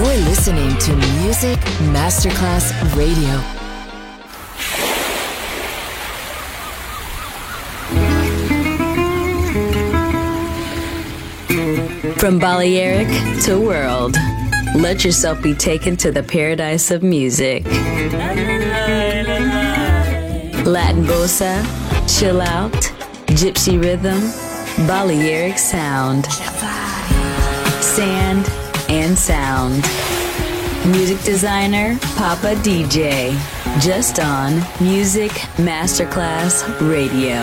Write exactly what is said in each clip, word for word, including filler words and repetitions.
You're listening to Music Masterclass Radio. From Balearic to world, let yourself be taken to the paradise of music. Latin bossa, chill out, gypsy rhythm, Balearic sound, sand and sound. Music designer, Papa D J, just on Music Masterclass Radio.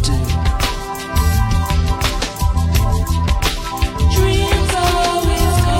Dreams always come.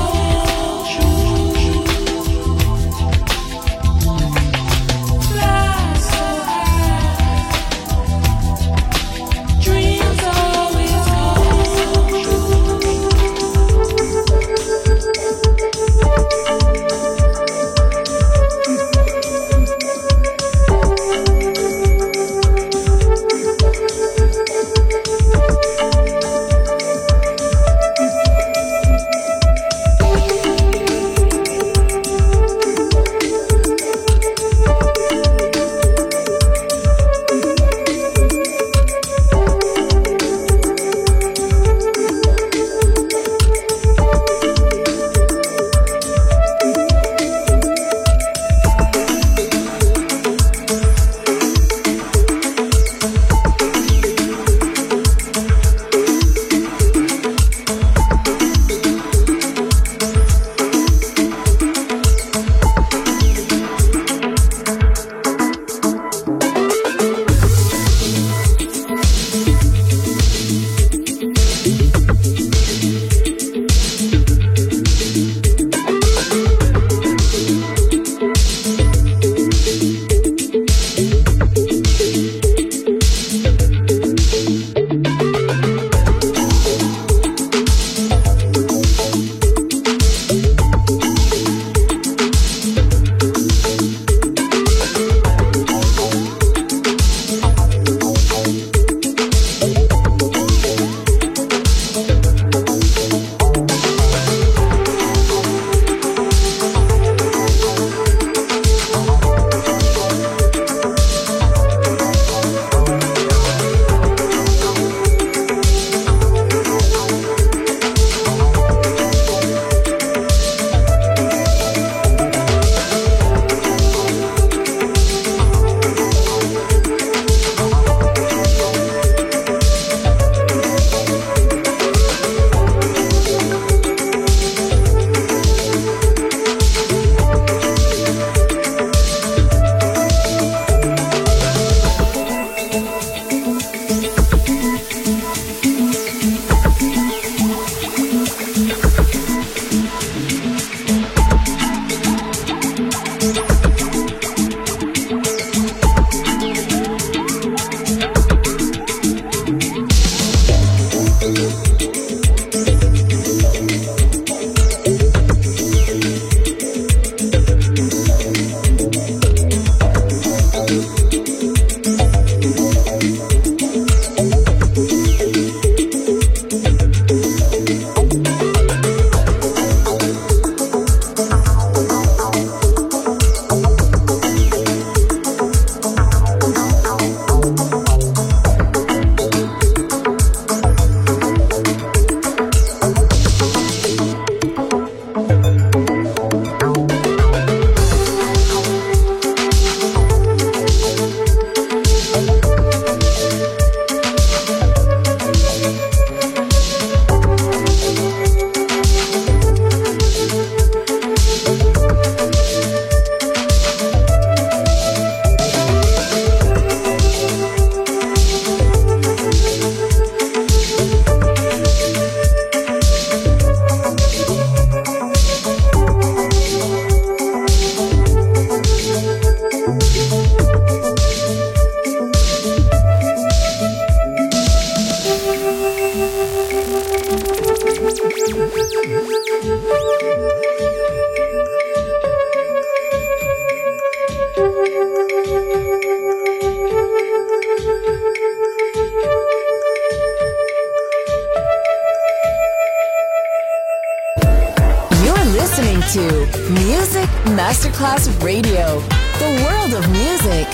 listening to Music Masterclass Radio, the world of music.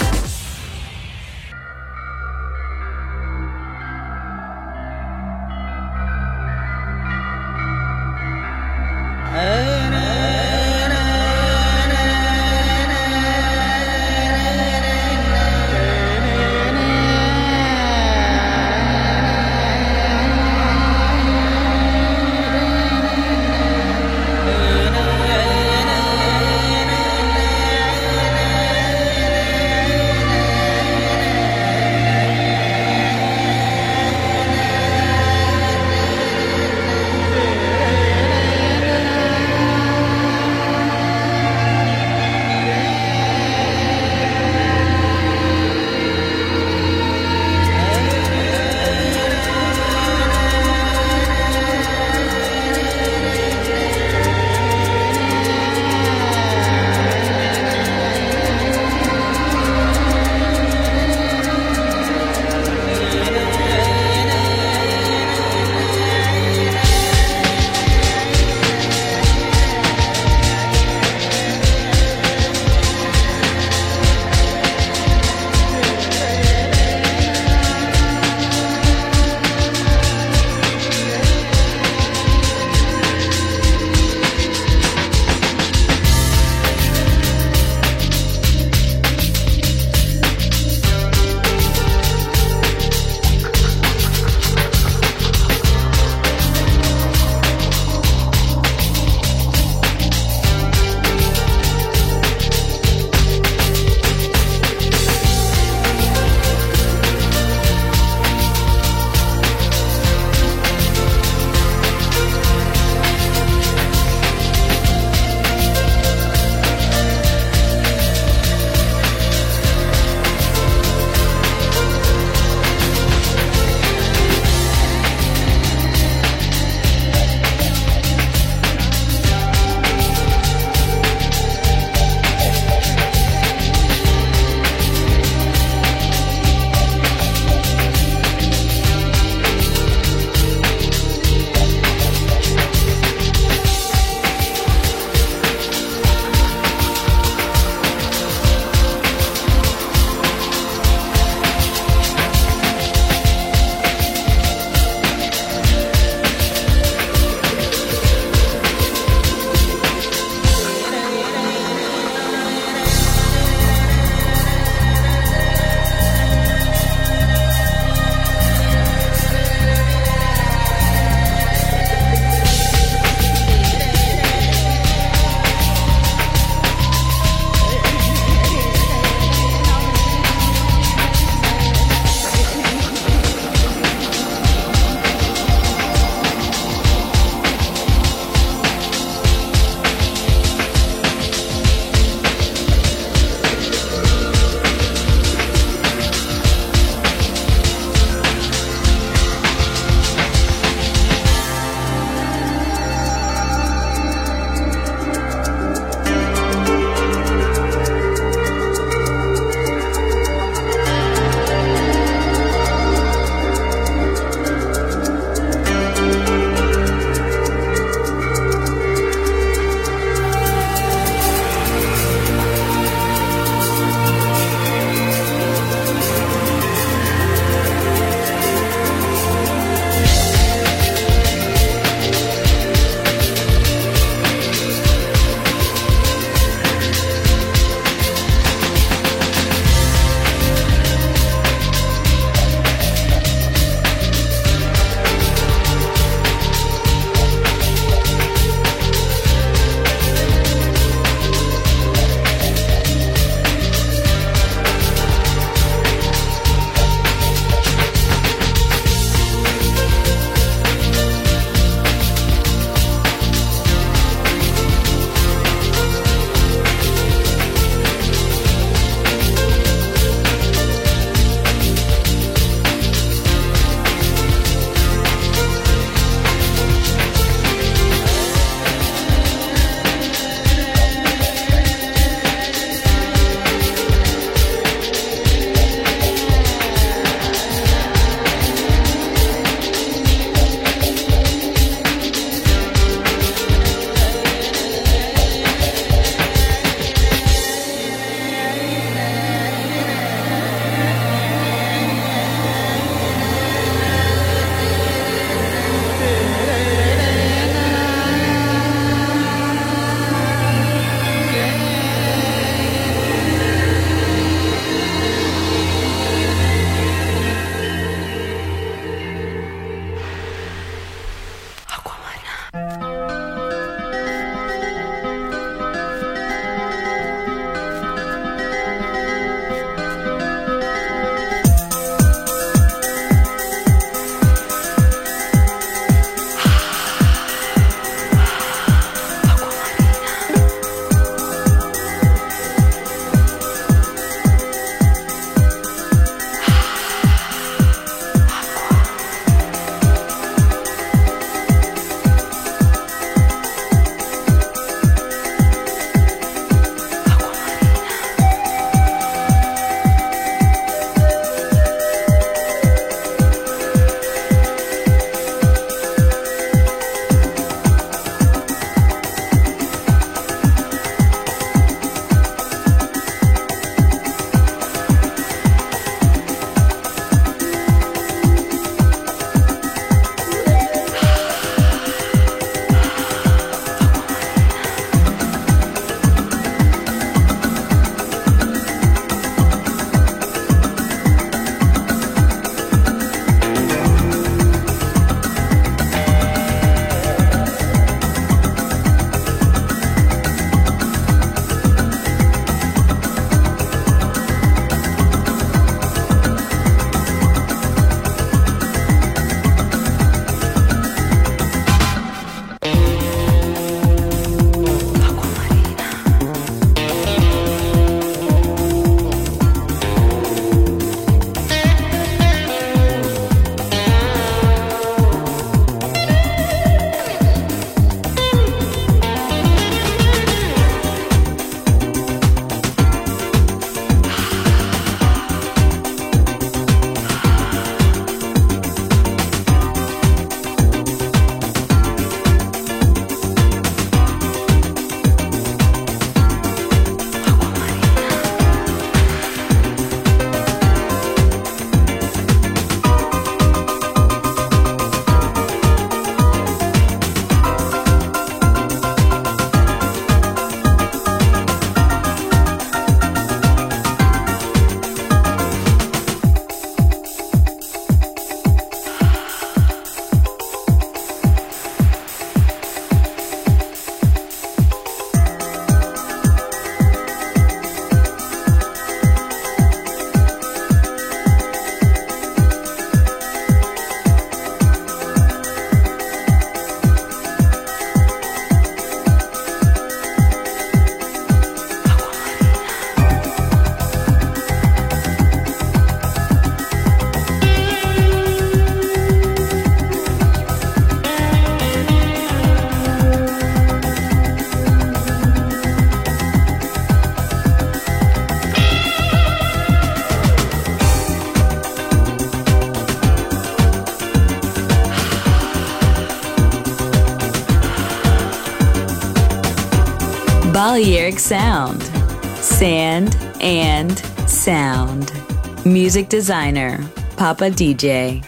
Balearic Sound. Sand and sound. Music designer, Papa D J.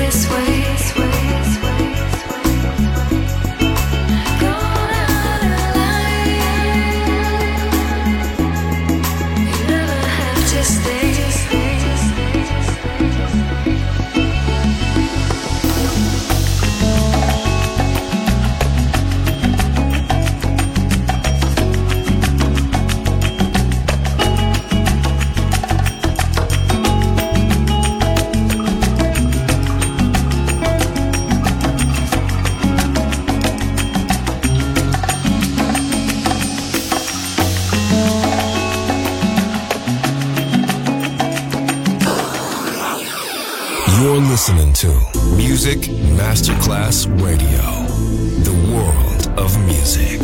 Listening to Music Masterclass Radio, the world of music.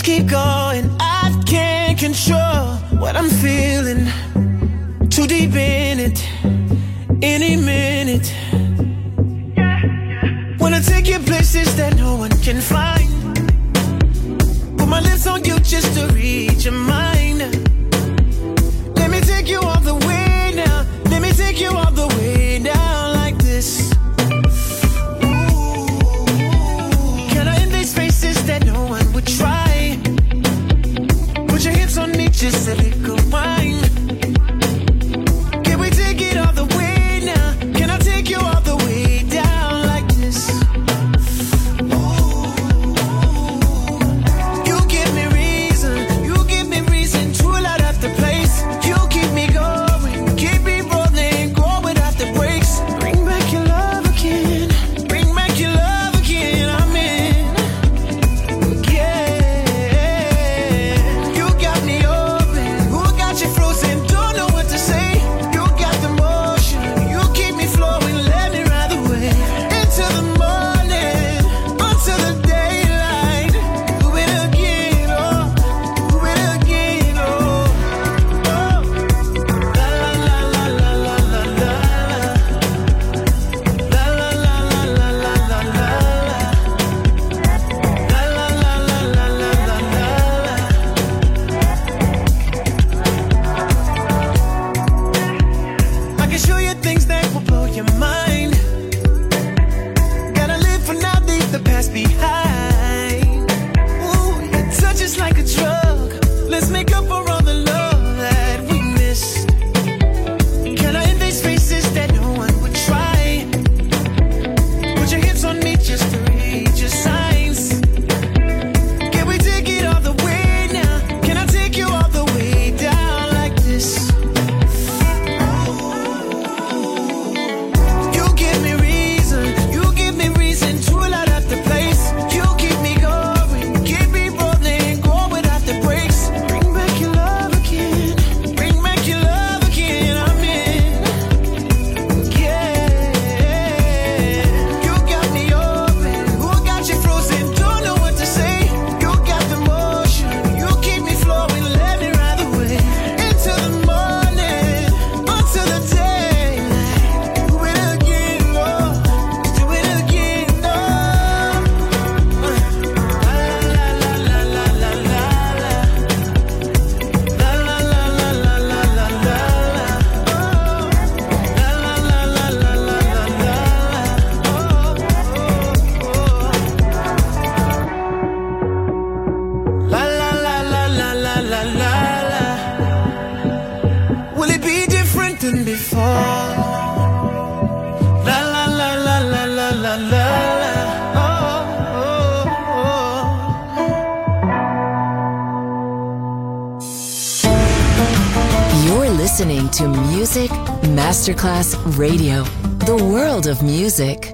keep going. I can't control what I'm feeling. Too deep in it. Any minute. Wanna take you places that no one can find. Put my lips on you just to reach your mind. Let me take you all the way now. Let me take you all the way down like this. Ooh. Can I invade spaces that no one would try? Put your hips on me, just a little wine. Can we take it all the way now? Can I take you all the way down like this? Ooh. You give me reason, you give me reason to light up the place. You keep me going, keep me rolling, go without the brakes. Bring back your love again, bring back your love again. I'm in, yeah. You got me open, who got you frozen? Don't know what to say. You got the motion, you keep me flowing. Let me ride the wave into the morning, until the daylight. Do it again, oh, do it again, oh, oh. La la la la la la la la la la la la la la la I can show you things that will blow your mind. Gotta live for now, leave the past behind. Ooh, your touch is like a drug. Let's make up for all the love that we missed. Can I invade spaces that no one would try? Put your hips on me just to read your signs. Can we take it all the way now? Can I take you all the way down like this? You give me reason, you give me reason to light up the place. You keep me going, keep me rolling, go without the brakes. Bring back your love again, bring back your love again. I'm in, yeah. You got me open, who got you frozen? Don't know what to say. You got the motion, you keep me flowing. Let me ride the wave into the morning, until the daylight. Do it again, oh, do it again, oh. La la la la la la la la. La la la la la la la la la. Oh. La la la la la la la la la. Oh, oh, oh. La la la la la la la la la. Will it be different than before? La la la la la la la la la. Oh, oh, oh. You're listening to Music Masterclass Radio, the world of music.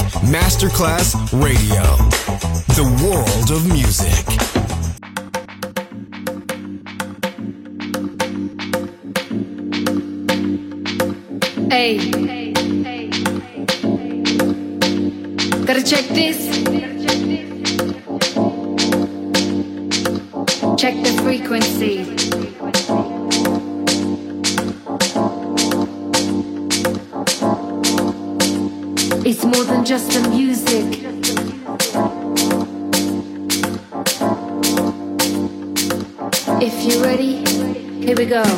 Masterclass Radio. The world of music. Hey, gotta check this. Check the frequency. It's more than just the music. If you're ready, here we go.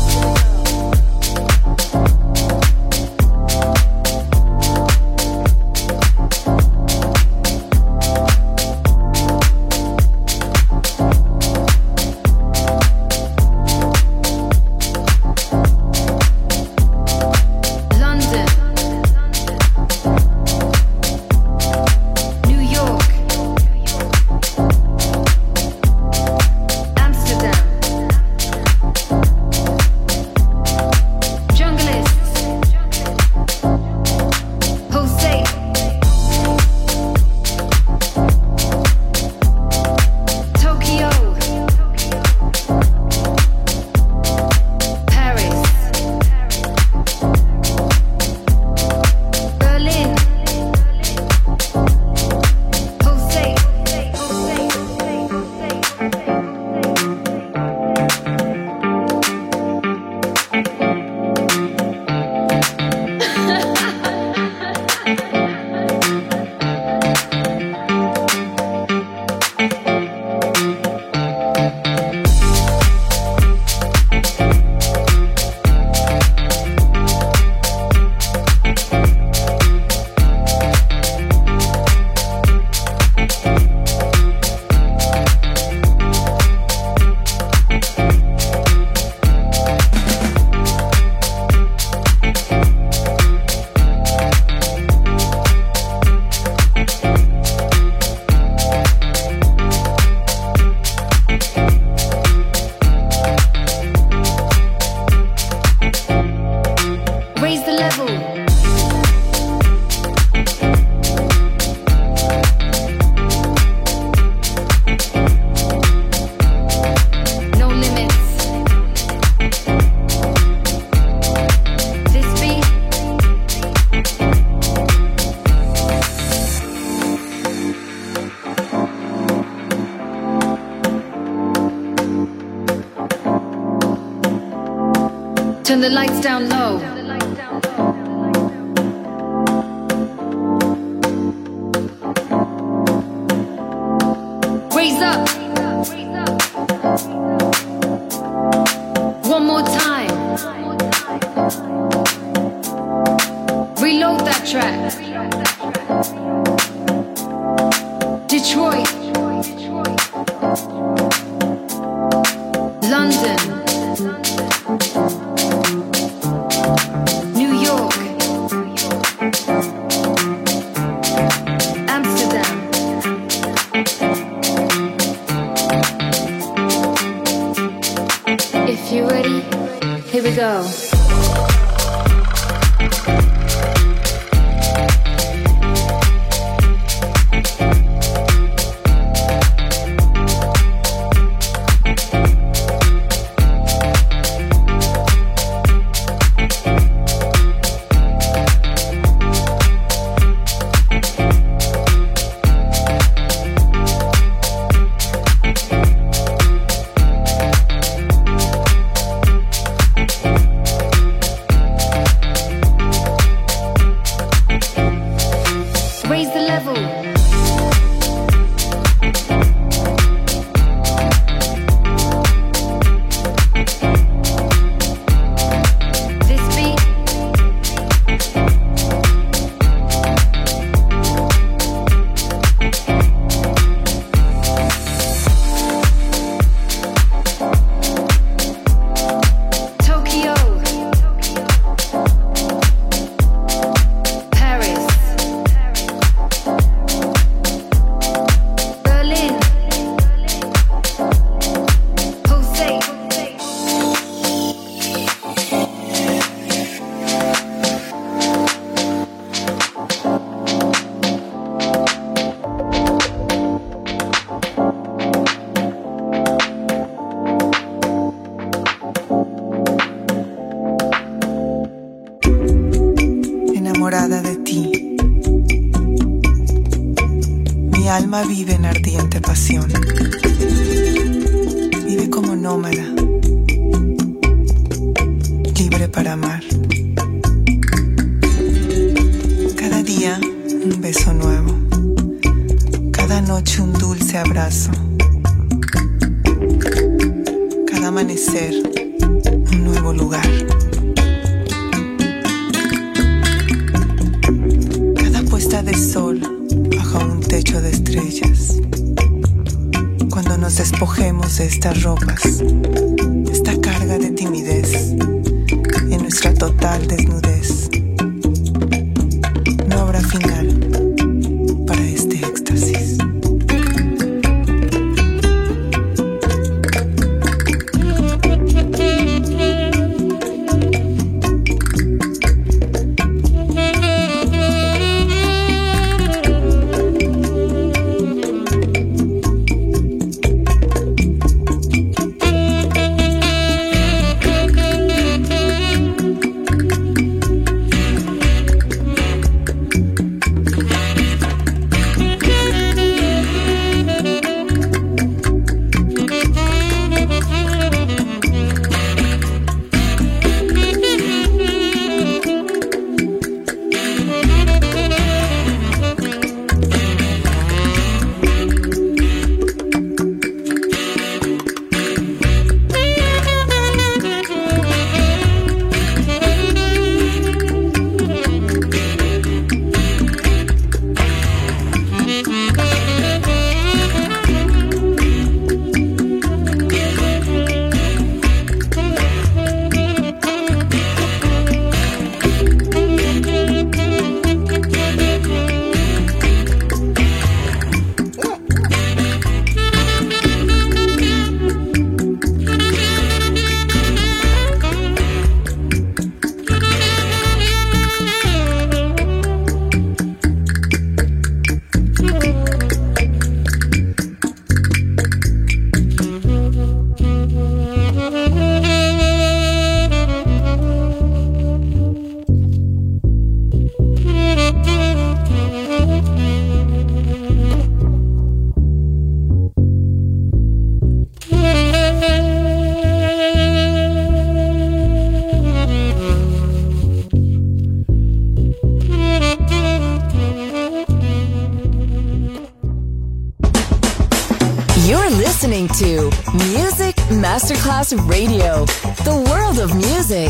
Turn the lights down low. Raise up. One more time. Reload that track. Detroit. London. New York. Amsterdam. If you're ready, here we go. Mi alma vive en ardiente pasión. Vive como nómada, libre para amar. Cada día un beso nuevo, cada noche un dulce abrazo, cada amanecer un nuevo lugar. Cada puesta de sol bajo un techo de estrellas. Cuando nos despojemos de estas ropas, esta carga de timidez, en nuestra total desnudez, no habrá final para este éxtasis. listening to Music Masterclass Radio, the world of music.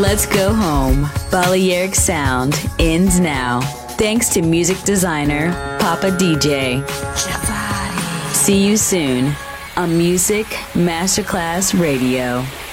Let's go home. Balearic Sound ends now. Thanks to music designer Papa D J. See you soon on Music Masterclass Radio.